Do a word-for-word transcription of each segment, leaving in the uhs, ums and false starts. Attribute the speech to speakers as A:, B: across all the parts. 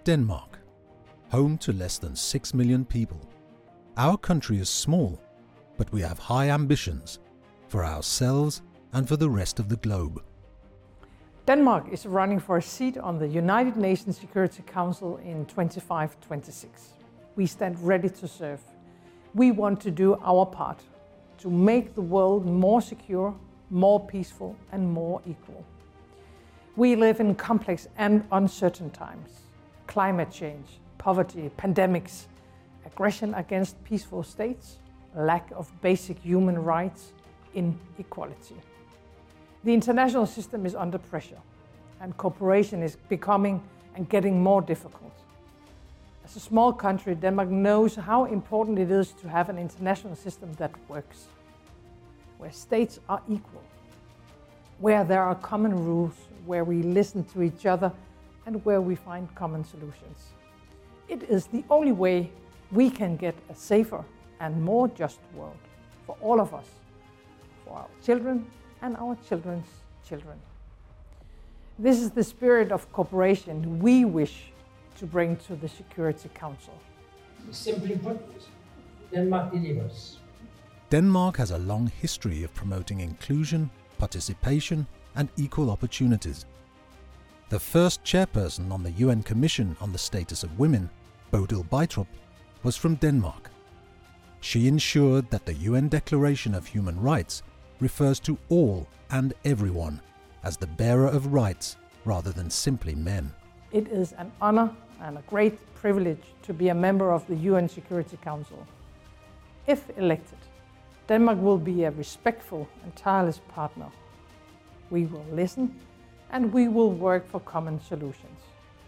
A: Denmark, home to less than six million people. Our country is small, but we have high ambitions for ourselves and for the rest of the globe.
B: Denmark is running for a seat on the United Nations Security Council in twenty-five twenty-six. We stand ready to serve. We want to do our part to make the world more secure, more peaceful, and more equal. We live in complex and uncertain times. Climate change, poverty, pandemics, aggression against peaceful states, lack of basic human rights, inequality. The international system is under pressure, and cooperation is becoming and getting more difficult. As a small country, Denmark knows how important it is to have an international system that works, where states are equal, where there are common rules, where we listen to each other, and where we find common solutions. It is the only way we can get a safer and more just world for all of us, for our children and our children's children. This is the spirit of cooperation we wish to bring to the Security Council.
C: Simply put, Denmark delivers.
A: Denmark has a long history of promoting inclusion, participation, and equal opportunities. The first chairperson on the U N Commission on the Status of Women, Bodil Beitrop, was from Denmark. She ensured that the U N Declaration of Human Rights refers to all and everyone as the bearer of rights rather than simply men.
B: It is an honor and a great privilege to be a member of the U N Security Council. If elected, Denmark will be a respectful and tireless partner. We will listen and we will work for common solutions.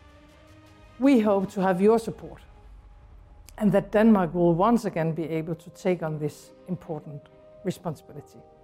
B: We hope to have your support and that Denmark will once again be able to take on this important responsibility.